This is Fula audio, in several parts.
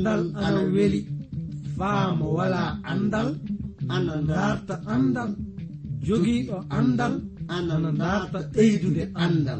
andal ana weli faamo wala andal ana darta andal jogiiɗo andal ana darta ɓeydude andal.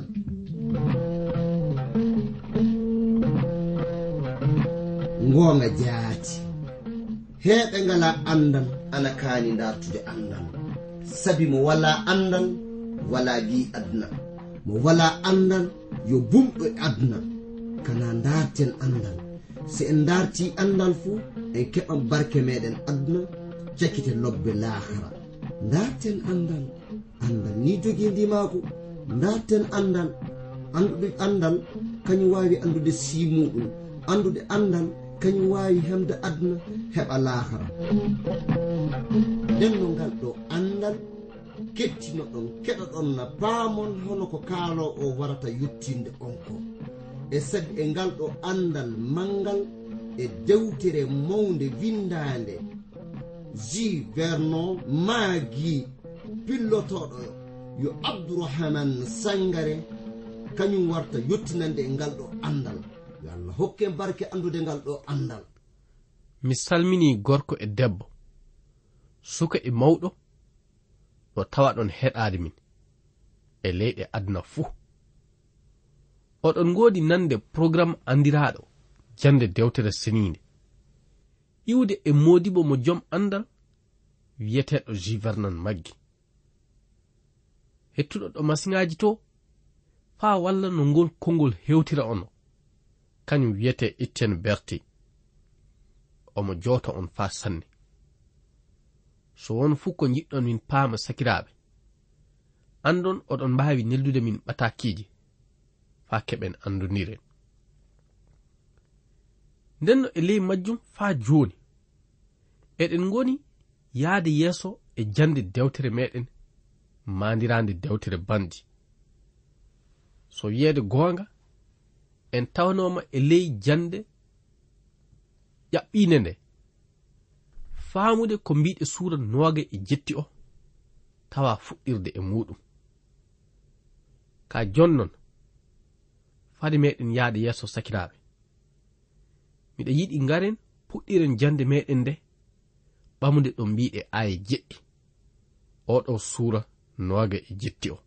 Ngoonga jaati heɓe ngala andal ana kaani dartude andal, sabi mo wala andal wala bi adna, mo wala andal yo bumɗo adna. Kana darten andal, si en darti andal fuu en keɓan barke meɗen adna, cakkite lobbe lahara. Darten andal, andal ni jogii ndimako. Darten andal, andude andal kañum wawi andude simuɗum, andude andal kañum wawi hemde adna heɓa lahara. nden no ngal ɗo andal kettino ɗon keɗo ɗon na paamon hono ko kaalo o warata yuttinde on ko, e sabi e ngal ɗo andal mangal e dewtere mawde windande Jules Vernon maagi pillotoɗo yo Abdourahmane Sangare, kañum warta yottinande e ngal ɗo andal. Yo Allah hokke barke andude ngal ɗo andal. Mi salmini gorko e debbo, suka e mawɗo, no tawa ɗon heɗaade min e leyɗe aduna fuu. Oɗon ngoodi nande programme andiraɗo jande dewtere seninde, iwde e modibo mo jom andal wiyeteɗo Jules Vernon maggi. Hettuɗo ɗo masiŋaji to faa walla no ngol kongol hewtira ono, kañum wiyete Etienne Berté. Omo jooto on faa sanne. So won fuu ko jiɗɗon min paama sakiraaɓe, andon oɗon mbaawi neldude min ɓatakiiji faa keɓen andoniren. Ndenno e ley majjum faa jooni eɗen ngoni yaade yeeso e jande dewtere meɗen mandirande dewtere bandi. So wiyeede goonga en tawnoma e ley jande ƴaɓɓiinde nde, faamude ko mbiɗe suura 27 o tawa fuɗɗirde e muɗum. Ka jonnon fade meɗen yaade yeeso sakiraaɓe, miɗa yiɗi ngaren puɗɗiren jande meɗen nde ɓamude ɗo mbiɗe aaye jeɗɗi oɗo suura 27 o.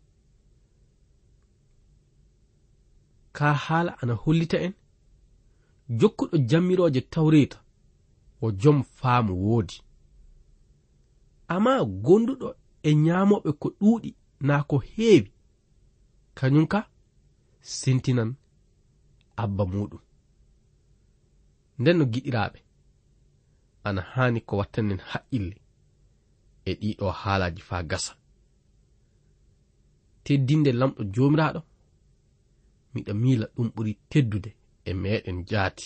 Ka haala ana hollita en jokkuɗo jammiroje tawreta o jom faamu woodi, amma gonduɗo e ñaamoɓe ko ɗuuɗi naa ko heewi, kañum ka sentinan abba muɗum. Nden no giɗiraaɓe, ana haani ko wattanen haqqille e ɗiɗo haalaji faa gasa. Teddinde lamɗo joomiraaɗo, miɗa miila ɗum ɓuri teddude e meɗen jaati.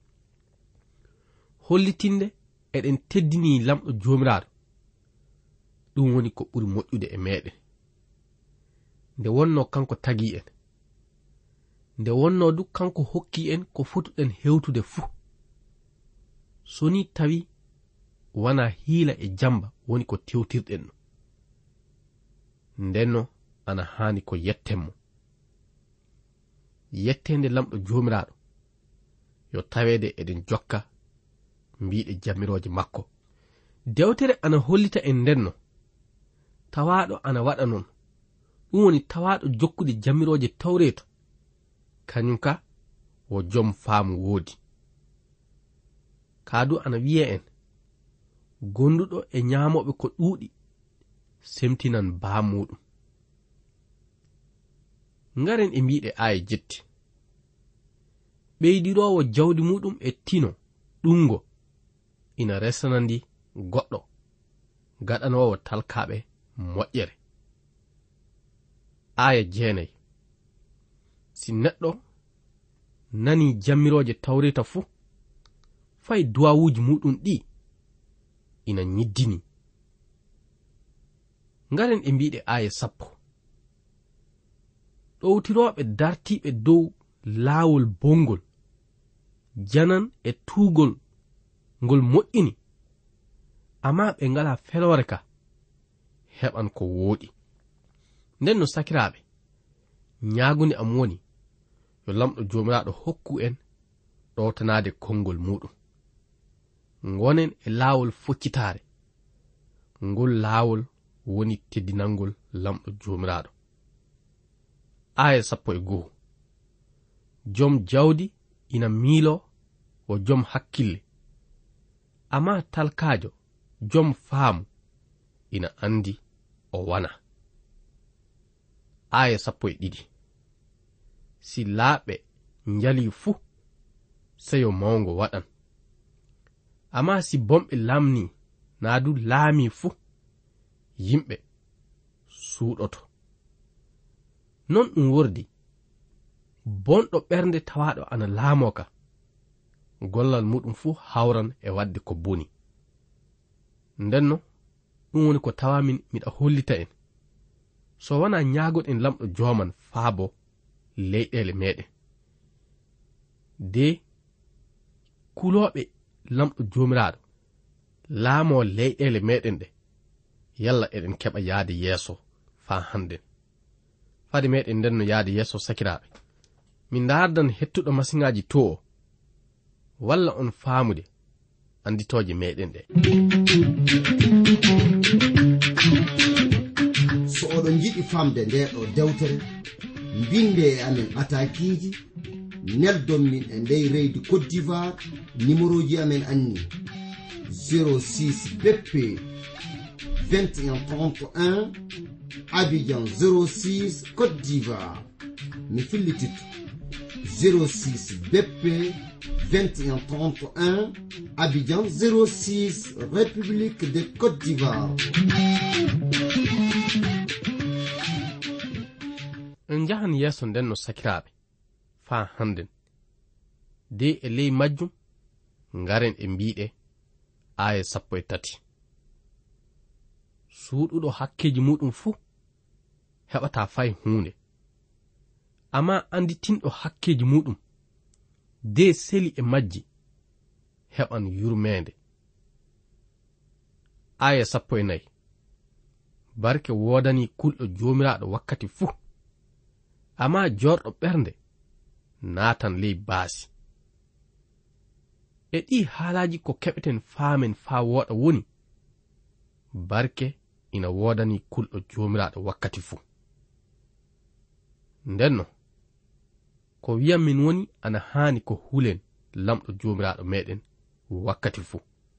Hollitinde eɗen teddini lamɗo joomiraaɗo, ɗum woni ko ɓuri moƴƴude e meɗen. Nde wonno kanko tagi en, nde wonno du kanko hokki en ko fotuɗen hewtude fuu. So ni tawi wana hiila e jamba woni ko tewtirɗen no, ndenno ana haani ko yettenmo. Yettende lamɗo joomiraaɗo yo taweede eɗen jokka mbiɗe jammiroje makko. Dewtere ana hollita en ndenno tawaaɗo ana waɗa non, ɗum woni tawaaɗo jokkude jammiroje tawreeta, kañum ka wo jom faamu woodi. Kaadu ana wiye en gonduɗo e ñaamoɓe ko ɗuuɗi semtinan baa muɗum. Ngaren e mbiɗe aaye jetti. Ɓeydirowo jawdi muɗum e tino ɗungo ina resanandi goɗɗo gaɗanowo talkaɓe moƴƴere. Aya 9. Si neɗɗo nani jammiroje tawreta fuu, fay duwawuji muɗum ɗi ina nyiddini. Ngaren e mbiɗe aya 10. ɗowtiroɓe dartiɓe dow laawol bongol janan e tuugol ngol moƴƴini, amma ɓe ngala feloore ka heɓan ko wooɗi. Nden no sakiraaɓe, ñaagunde am woni yo lamɗo joomiraaɗo hokku en ɗowtanaade konngol muɗum. ngonen e laawol foccitaare ngol laawol woni teddinangol lamɗo jomiraɗo. aya 11 jom jawdi ina miilo o jom hakkille, amma talkajo jom faamu ina andi o wana. aya 12 si laaɓe njali fuu seyo mawngo waɗan, amma si bomɓe lamni naa du laami fuu yimɓe suuɗoto. non ɗum wordi bonɗo ɓernde tawaɗo ana laamoka gollal muɗum fuu hawran e wadde ko boni. ndenno ɗum woni ko tawamin miɗa hollita en, so wona ñaagoɗen lamɗo joman faabo leyɗele meɗen de kuloɓe lamɗo jomiraɗo laamo leyɗele meɗen ɗe, yalla eɗen keɓa yaade yeeso fa hannden. fade meɗen ndenno yaade yeeso sakiraɓe, min dardan hettuɗo masiŋaji to o walla on faamude anditoje meɗen ɗe. so oɗon jiɗi famde nde ɗo dewtere, binde e amen atakiji, neldon min e ndey reydi Côte d'Ivoire. numéroji amen anni 06 BP 2131 Abidjan 06 Côte d'Ivoire. mi fillitito 06 BP 2131 Abidjan 06 République de Côte d'Ivoire. en jahan yeeso nden no sakiraaɓe faa hannden de e ley majjum ngaren e mbiɗe aya 13 suuɗuɗo hakkeji muɗum fuu heɓata fay hunde, amma anditinɗo hakkeji muɗum de seli e majji heɓan yurmede. aya 14 barke wodani kulɗo jomiraɗo wakkati fuu, amma jorɗo ɓernde naatan ley baasi. e ɗi haalaji ko keɓeten faamen faa woɗa woni barke ina wodani kulɗo jomiraɗo wakkati fuu. ndenno ko wiyam min woni ana haani ko hulen lamɗo jomiraɗo meɗen wakkati fuu.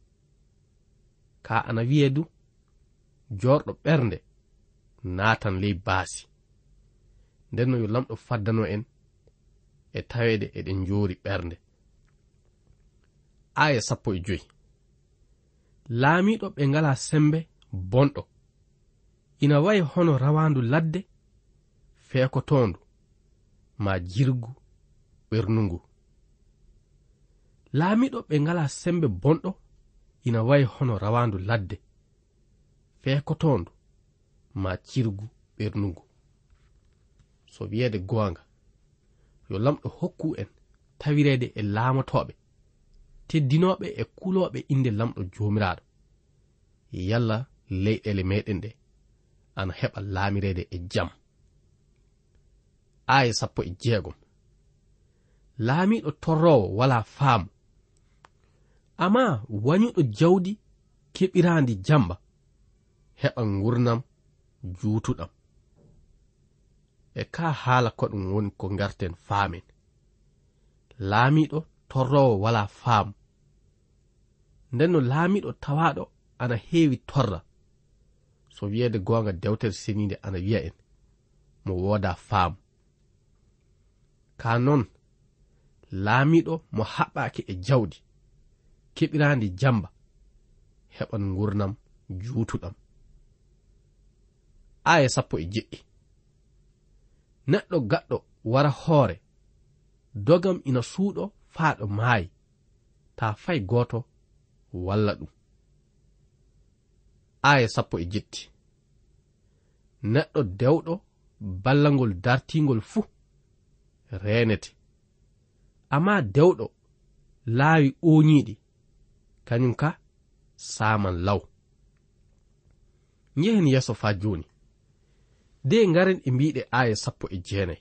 ka ana wiye du jorɗo ɓernde naatan ley baasi. ndenno yo lamɗo faddano en e tawede eɗen joori ɓernde. aya 15 laamiɗo ɓe ngala sembe bonɗo ina wayi hono rawandu ladde feekotondu ma jirgu ɓernungu. laamiɗo ɓe ngala sembe bonɗo ina wayi hono rawandu ladde feekotondu ma cirgu ɓernungu. so wiyeede goonga yo lamɗo hokku en tawirede e laamotoɓe teddinoɓe e kuloɓe inde lamɗo jomiraɗo, yalla leyɗele meɗen ɗe ana heɓa laamirede e jam. aya 16 laamiɗo torrowo wala faamu, amma wañuɗo jawdi keɓirandi jamba heɓan gurnam juutuɗam. e ka haala ko ɗum woni ko garten faamen. laamiɗo torrowo wala faamu, ndenno laamiɗo tawaɗo ana heewi torra. so wiyeede goonga dewtere seninde ana wiya en mo wooda faamu. ka non laamiɗo mo haɓɓaake e jawdi keɓirandi jamba heɓan gurnam juutuɗam. aya 17 neɗɗo gaɗɗo wara hoore dogam ina suuɗo faaɗo maayi ta fay gooto walla ɗum. aya 17 neɗɗo dewɗo ballangol dartingol fuu renete, amma dewɗo laawi ooñiiɗi kañum ka saaman law. njehen yeeso faa jooni de ngaren e mbiɗe aya 19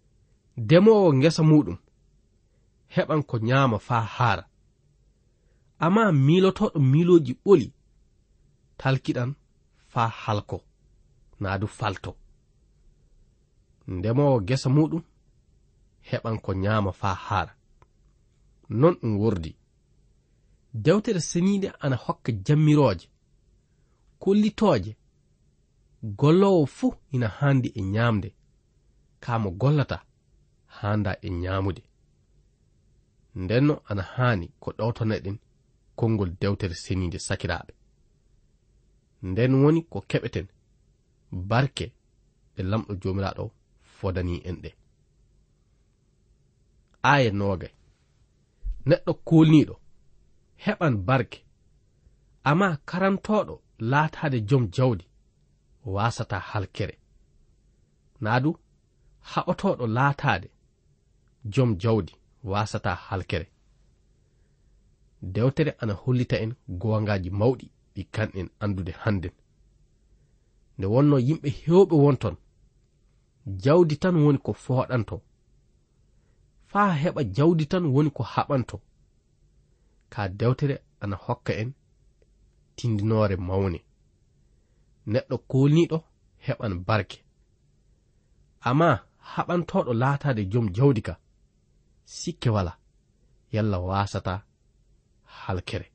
demowo ngesa muɗum heɓan ko ñaama faa haara, amma miilotoɗo miiloji ɓoli talkiɗan faa halko naa du falto. Ndemowo gesa muɗum heɓan ko nyaama faa haara. Non ɗum wordi. Dewtere seniide ana hokka jammirooje kollitooje gollowo fuu ina haandi e nyaamde kaa mo gollata haanda e nyaamude. Ndenno ana haani ko ɗowtoneɗen konngol dewtere seniide sakiraaɓe. Nden woni ko keɓeten barke ɗe lamɗo joomiraaɗo fodani en ɗe. Aya 20. Neɗɗo kolniiɗo heɓan barke, amma karantoɗo laataade jom jawdi wasata halkere. Naadu haɓotoɗo laataade jom jawdi wasata halkere. Dewtere ana hollita en gowangaji mawɗi ɗi kanɗen andude hannden. Nde wonno yimɓe hewɓe wonton jawdi tan woni ko fooɗanto, faa heɓa jawdi tan woni ko haɓanto. Ka dewtere ana hokka en tindinoore mawne. Neɗɗo kolniɗo heɓan barke, amma haɓantoɗo laataade jom jawdi ka sikke wala yalla wasata halkere.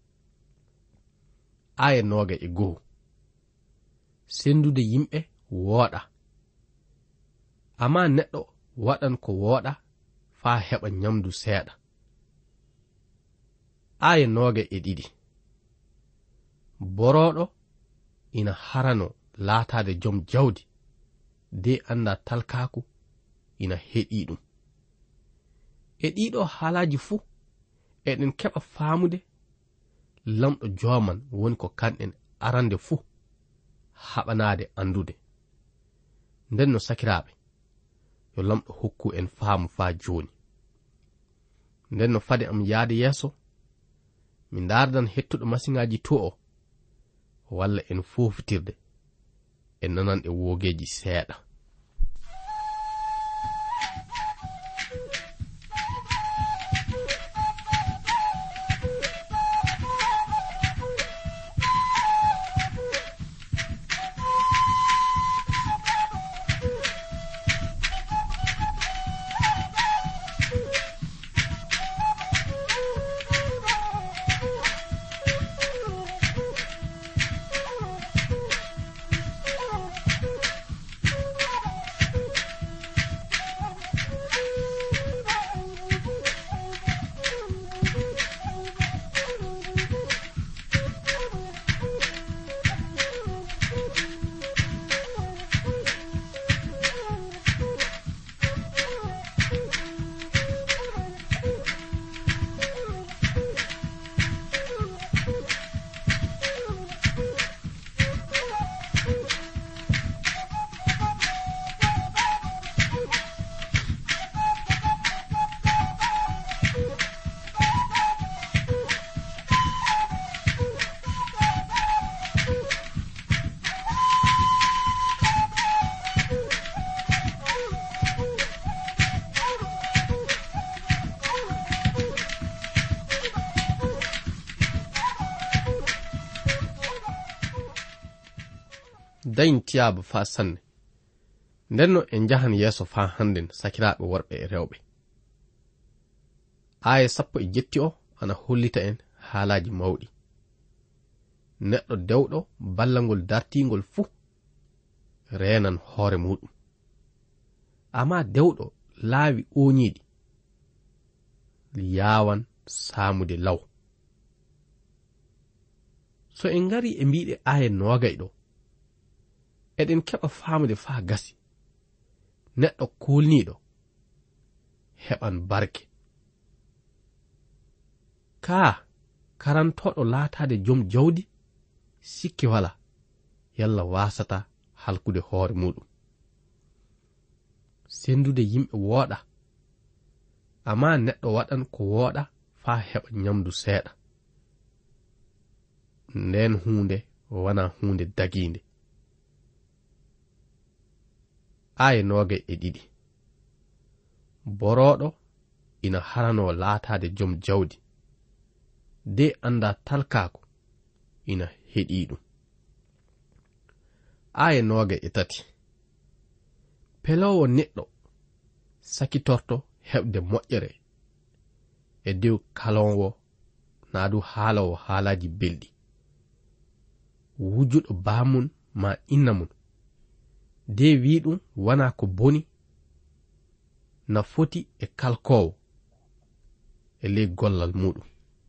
Aya 21. Sendude yimɓe wooɗa, amma neɗɗo waɗan ko wooɗa faa heɓa nyamdu seeɗa. Aya 22. Boroɗo ina harano laataade jom jawdi de anda talkaku ina heɗi ɗum. E ɗiɗo haalaji fuu eɗen keɓa faamude lamɗo jooman woni ko kanɗen arande fuu haɓanaade andude. Nden no sakiraaɓe, yo lamɗo hokku en faamu faa jooni. Nden no fade am yaade yeeso mi ndardan hettuɗo masiŋaaji to o walla en fofitirde en nanan e woogeeji seeɗa. dayin tiyaba faa sanne. Ndenno en jahan yeeso faa hannden sakiraaɓe worɓe e rewɓe. Aya 17 o ana hollita en haalaaji mawɗi. Neɗɗo dewɗo ballangol dartingol fuu reenan hoore muɗum, amma dewɗo laawi ooñiiɗi yaawan saamude law. So en ngari e mbiɗe aya 20 ɗo, eɗen keɓa faamude faa gasi neɗɗo kolniiɗo heɓan barke. Kaa karantoɗo laataade jom jawdi sikke wala yalla wasata halkude hoore muɗum. Sendude yimɓe wooɗa, amma neɗɗo waɗan ko wooɗa faa heɓa nyamdu seeɗa. Nden hunde wana hunde dagiinde. Aya 22. Boroɗo ina harano laataade jom jawdi de anda talkako ina heɗi ɗum. Aya 23 pelowo neɗɗo sakitorto heɓde moƴƴere e dow kalonwo naa du haalowo haalaji belɗi, wujjuɗo baamun ma inna mun de wi ɗum wana ko boni na foti e kalkowo e ley gollal muɗum.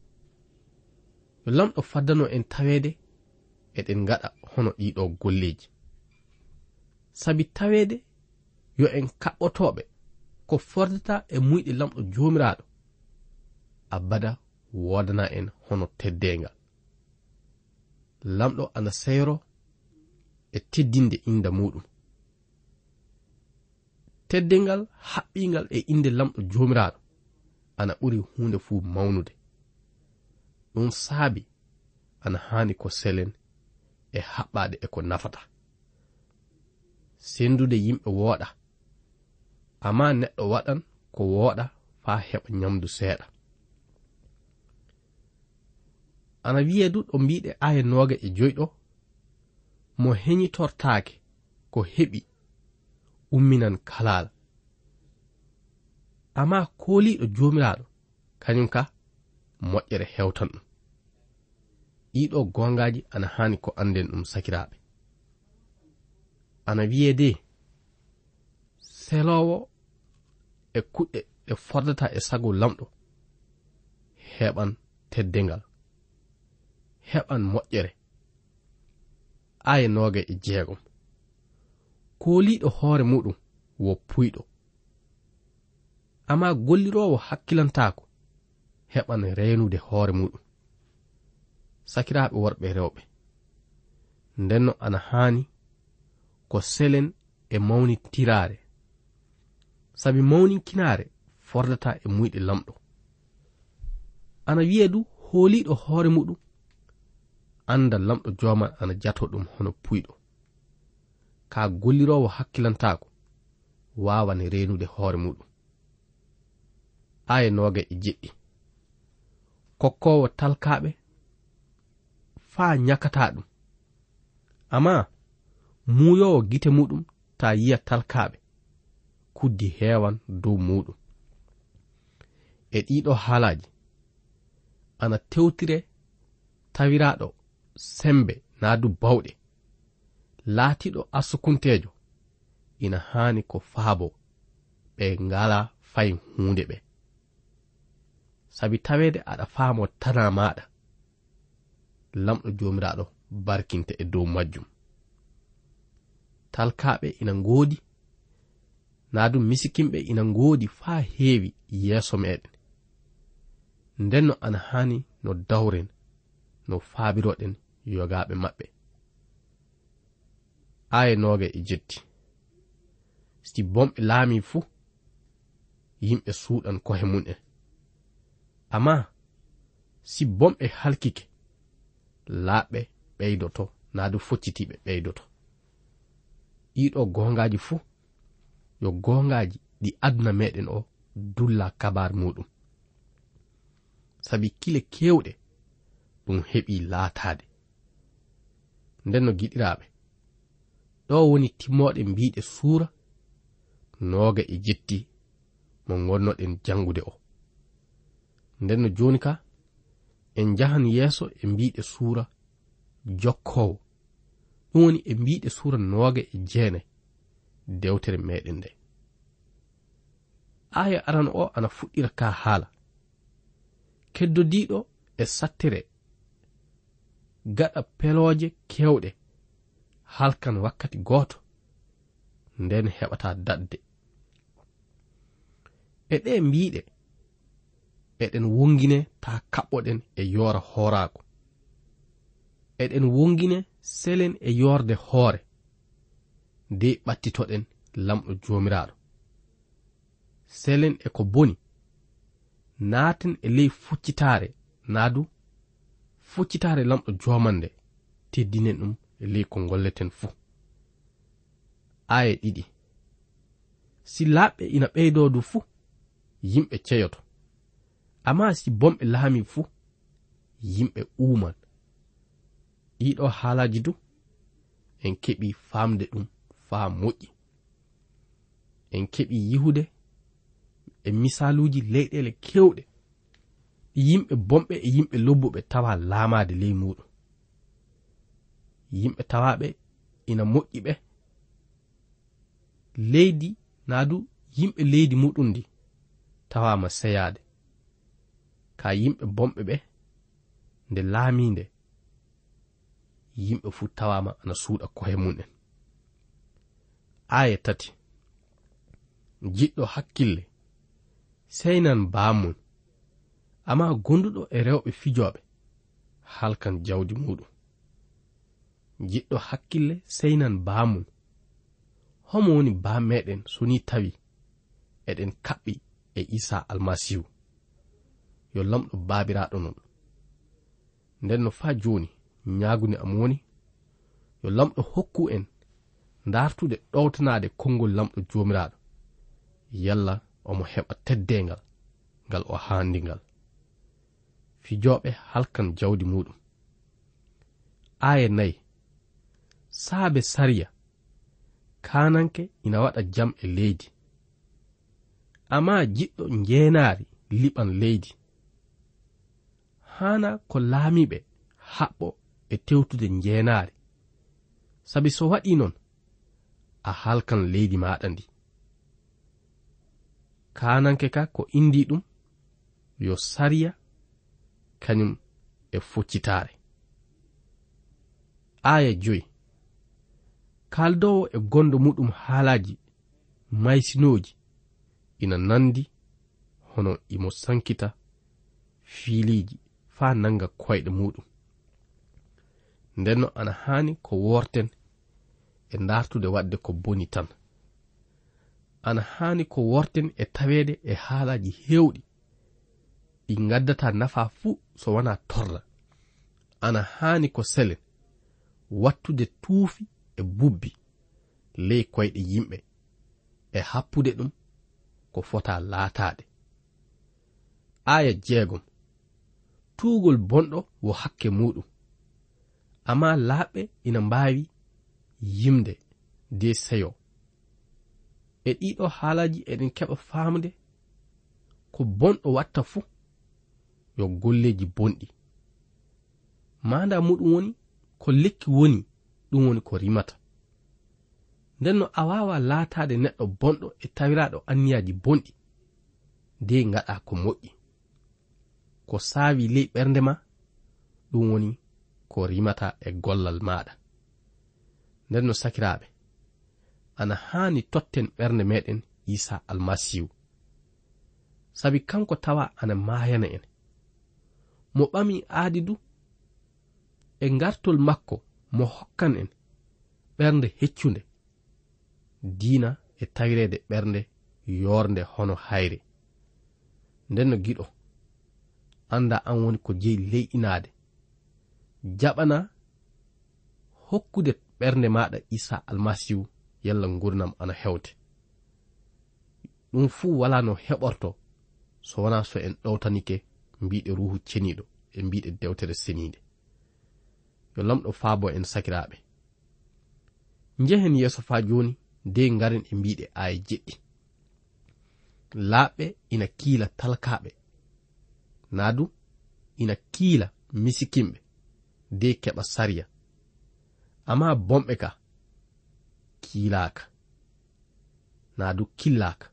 Yo lamɗo faddano en tawede eɗen gaɗa hono ɗiɗo golleji, sabi tawede yo en kaɓɓotoɓe ko fordata e muyɗe lamɗo jomiraɗo abada wodana en hono teddengal. Lamɗo ana seyro e teddinde inda muɗum. Teddengal haɓɓingal e inde lamɗo jomiraɗo ana ɓuri hunde fuu mawnude. Ɗum saabi ana hani ko selen e haɓɓade e ko nafata. Sendude yimɓe wooɗa, amma neɗɗo waɗan ko wooɗa faa heɓa nyamdu seeɗa. Ana wiyedu ɗo mbiɗe aya 25 mo heñitortaake ko heɓi umminan kalala, amma kooliɗo jomiraɗo kañum ka moƴƴere hewtan ɗum. Ɗiɗo gongaji ana hani ko anden ɗum sakiraɓe. Ana wiyede selowo e kuɗɗe ɗe fordata e sago lamɗo heɓan teddengal, heɓan moƴƴere. Aya 26 kooliɗo hoore muɗum wo puyɗo, amma gollirowo hakkilantako heɓan reenude hoore muɗum. Sakiraɓe worɓe rewɓe, ndenno ana hani ko selen e mawnitirare, sabi mawninkinare fordata e muyɗe lamɗo. Ana wiyedu hooliɗo hoore muɗum anda lamɗo joman ana jato ɗum hono puyɗo, ka gollirowo hakkilantako wawan reenude hoore muɗum. Aya 27 kokkowo talkaɓe faa nyakata ɗum, amma muuyowo gite muɗum ta yiya talkaɓe kuddi heewan dow muɗum. E ɗiɗo haalaji ana tewtire tawiraɗo sembe naadu bawɗe, laatiɗo asukuntejo ina hani ko faabo ɓe ngala fay hunde ɓe, sabi tawede aɗa faamo tana maɗa. Lamɗo jomiraɗo barkinte e dow majjum. Talkaɓe ina ngoodi, naadu misikimɓe ina ngoodi faa heewi yeeso meɗen, ndenno ana hani no dawren no faabiroɗen yogaɓe maɓɓe. Aya 27 si bomɓe laami fuu yimɓe suuɗan kohe mun'en, amma si bomɓe halkike laaɓɓe ɓeydoto naadu foccitiɓe ɓeydoto. Ɗiɗo gongaji fuu yo gongaji ɗi aduna meɗen o dulla kabar muɗum, sabi kile kewɗe ɗum heɓi laatade. Ndenno giɗiraɓe, ɗo woni timmoɗe mbiɗe suura 27 mo gonnoɗen jangude o. Ndenno joni ka en jahan yeeso e mbiɗe suura jokkowo, ɗum woni e mbiɗe suura 29 dewtere meɗen nde. Aya aran o ana fuɗɗira ka haala keddodiɗo e sattere gaɗa pelooje kewɗe halkan wakkati gooto, nden heɓata dadde. E ɗe mbiɗe eɗen wongine ta kaɓɓoɗen e yoora hoorako, eɗen wongine selen e yorde hoore nde ɓattitoɗen lamɗo jomiraɗo. Selen e ko boni naaten e ley fuccitare, naadu fuccitare lamɗo jomande teddinen ɗum e ley ko golleten fuu. Aya 2 si laaɓɓe ina ɓeydodu fuu yimɓe ceyoto, amma si bomɓe laami fuu yimɓe uuman. Ɗiɗo haalaji du en keɓi famde ɗum faa moƴƴi. En keɓi yihude e misaluji leyɗele kewɗe yimɓe bomɓe e yimɓe lobbuɓe tawa laamade ley muɗum. Yimɓe tawaɓe ina moƴƴi ɓe leydi naadu yimɓe leydi muɗum ndi tawama seyade. Ka yimɓe bomɓe ɓe nde laaminde yimɓe fu tawama ana suuɗa kohe mum'en. Aya 3. Jiɗɗo hakkille seynan baamum, amma gonduɗo e rewɓe fijoɓe halkan jawdi muɗum. Jiɗɗo hakkille seynan baamum, homo woni baa meɗen so ni tawi eɗen kaɓɓi e Isa almasihu yo lamɗo baabiraɗo non. Nden no faa joni ñaagunde am woni yo lamɗo hokku en dartude ɗowtanade konngol lamɗo joomiraɗo, yalla omo heɓa teddengal ngal o haandingal. Fijoɓe halkan jawdi muɗum. Aya 4. Saabe sariya kananke ina waɗa jam e leydi, amma jiɗɗo njeenaari liɓan leydi. Hana ko laamiɓe haɓɓo e tewtude njeenaari, sabi so waɗi non a halkan leydi maɗa ndi. Kananke ka ko indi ɗum yo sariya kañum e foccitaare. Aya 5. Kaldowo e gondo muɗum haalaji maysinoji ina nandi hono imo sankita fiiliji faa nanga koyɗe muɗum. Ndenno ana haani ko worten e dartude wadde ko boni tan. Ana haani ko worten e taweede e haalaji hewɗi ɗi gaddata nafa fuu so wana torla. Ana haani ko selen wattude tuufi e bubbi ley koyɗe yimɓe e happude ɗum ko fota laataade. Aya 6. Tuugol bonɗo wo hakke muɗum, amma laaɓɓe ina mbaawi yimde de seyo. E ɗiɗo haalaji eɗen keɓa faamde ko bonɗo watta fuu yo golleji bonɗi. Manda muɗum woni ko lekki woni ɗum woni ko rimata. Ndenno a wawa laatade neɗɗo bonɗo e tawiraɗo anniyaji bonɗi de ngaɗa ko moƴƴi. Ko saawi ley ɓernde ma ɗum woni ko rimata e gollal maɗa. Ndenno sakiraɓe, ana haani totten ɓernde meɗen Isa almasihu, sabi kanko tawa ana maayana en. Mo ɓami aadi du e ngartol makko mo hokkan en ɓernde heccunde, diina e tawirede ɓernde yorde hono hayre. Ndenno giɗo, anda an woni ko jeyi leyɗinade, jaɓana hokkude ɓernde maɗa Isa almasihu yalla gurnam ana hewte. Ɗum fuu wala no heɓorto so wana so en ɗowtanike mbiɗe ruhu ceniɗo e mbiɗe dewtere senide. Yo lamɗo faabo en sakiraɓe. Njehen yeso fa joni de ngaren e mbiɗe aya 7. Laaɓɓe ina kiila talkaɓe, naadu ina kiila misikimɓe de keɓa sariya, amma bomɓe ka kiilaka, naadu killaka.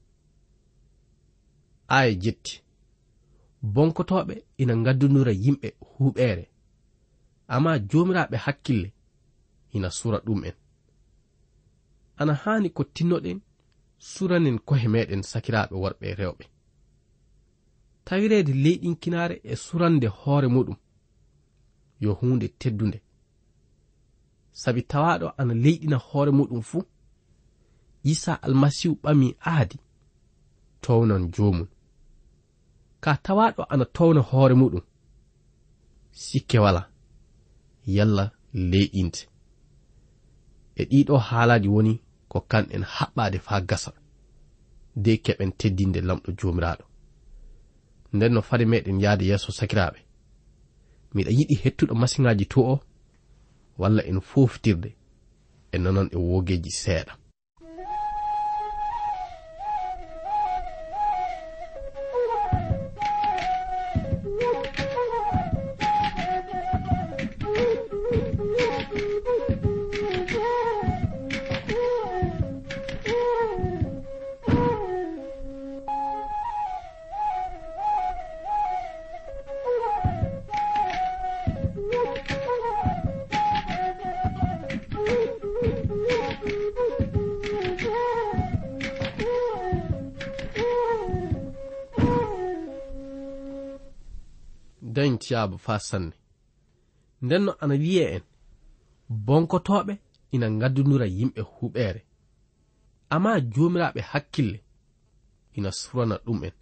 Aya 7. Bonkotoɓe ina ngaddunura yimɓe huɓere, amma jomiraɓe hakkille ina sura ɗum en. Ana haani ko tinnoɗen suranen kohe meɗen sakiraɓe worɓe e rewɓe. Tawirede leyɗinkinare e surande hoore muɗum yo hunde teddunde, sabi tawaɗo ana leyɗina hoore muɗum fuu, Isa almasihu ɓami aadi townan jomum. Ka tawaɗo ana towna hoore muɗum, sikke wala yalla leyɗinte. E ɗiɗo haalaji woni ko kanɗen haɓɓade faa gasa de keɓen teddinde lamɗo jomiraɗo. Nden no fade meɗen yaade yeso sakiraɓe, miɗa yiɗi hettuɗo masiŋaji to o walla en foftirde e nonon e wogeji seeɗa. dañ tiyaaba fa sanne ndenno ana wiye en bonkotoɓe ina gaddunura yimɓe huɓere amma jomiraɓe hakkille ina surana ɗum en.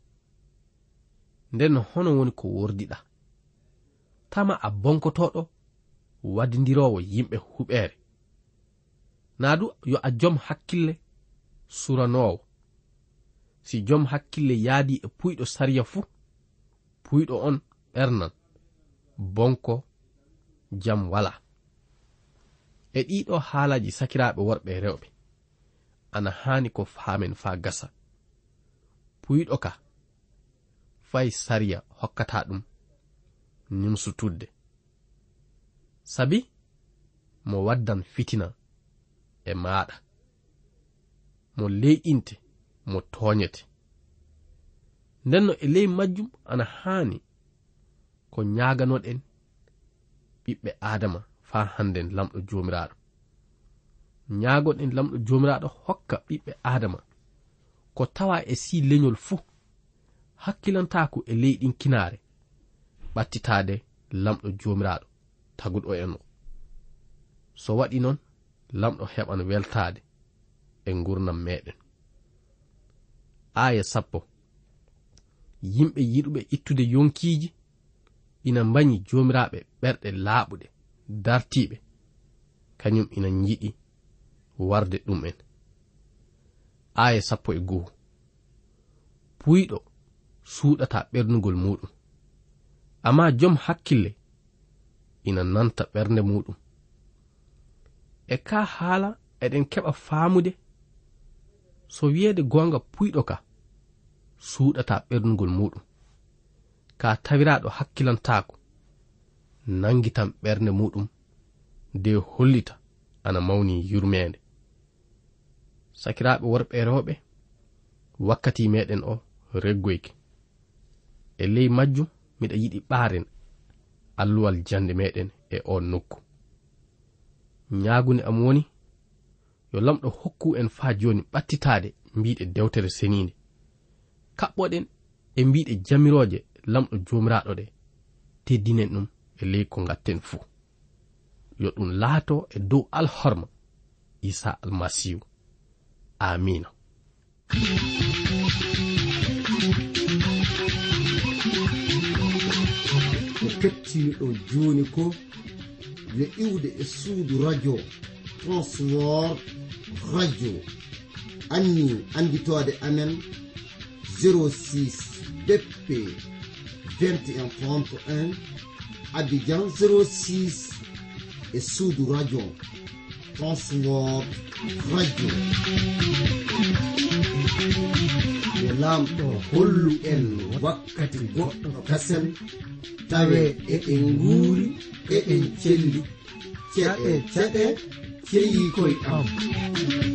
ndenno hono woni ko wordiɗa tama a bonkotoɗo waddidirowo yimɓe huɓere naadu yo a jom hakkille suranowo. si jom hakkille yaadi e puyɗo sariya fuu puyɗo on ɓernan bonko jam wala. e ɗiɗo haalaji sakiraɓe worɓe rewɓe ana hani ko faamen fa gasa. puyɗo ka fay sariya hokkata ɗum nimsutudde sabi mo waddan fitina e maɗa mo leyɗinte mo toñete. ndenno e ley majjum ana hani ko ñaganoɗen ɓiɓɓe adama fa handen lamɗo jomiraɗo. ñagoɗen lamɗo jomiraɗo hokka ɓiɓɓe adama ko tawa e si leñol fuu hakkilantako e leyɗin kinare ɓattitade lamɗo jomiraɗo taguɗo en o. so waɗi noon lamɗo heɓan weltade e gurnam meɗen. aya 10 yimɓe yiɗuɓe ittude yonkiji ina mbañi jomiraɓe ɓerɗe laaɓuɗe dartiɓe kañum ina yiɗi warde ɗum en. aya 11 puyɗo suuɗata ɓernugol muɗum amma jom hakkille ina nanta ɓernde muɗum. e ka haala eɗen keɓa faamude so wiyeede gonga puyɗo ka suuɗata ɓernugol muɗum ka tawiraɗo hakkilantako nangitan ɓernde muɗum de hollita ana mawni yurmede. sakiraɓe worɓe rewɓe wakkati meɗen o reggoyke e ley majjum miɗa yiɗi ɓaaren alluwal jande meɗen e on nokku. ñaagunde am woni yo lamɗo hokku en fa joni ɓattitade mbiɗe dewtere seninde kaɓɓoɗen e mbiɗe jamiroje lamɗo jomiraɗo ɗe teddinen ɗum e ley ko gatten fuu. yo ɗum laato e dow alhorma isa almasihu. amina. ko kettimi ɗo joni ko yo iwde e suudu radio transwor radio anni anditode amen 06 BP 2131 Abidjan 06 e suudu radio transwor radio. yo lamɗo hollu en wakkati goɗɗo kasen tawe eɗen nguuri eɗen celli ceɗe ceɗe ceyi koye am.